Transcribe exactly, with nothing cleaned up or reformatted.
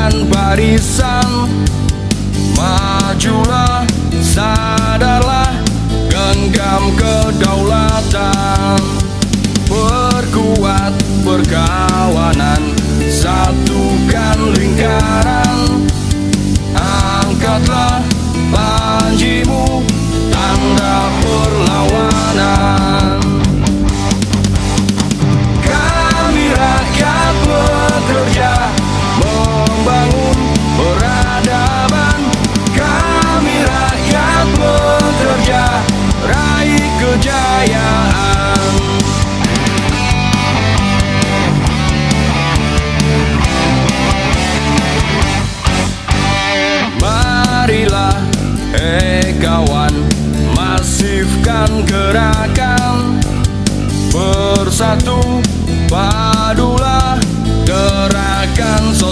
Satukan barisan, majulah, sadarlah, genggam kedaulatan. Perkuat perkawanan, satukan lingkaran. Angkatlah panjimu, tanda perlawanan. Kami rakyat bekerja, membangun peradaban. Kami rakyat bekerja, raih kejayaan. Marilah, hei kawan, masifkan gerakan. Bersatu, padulah, gerakan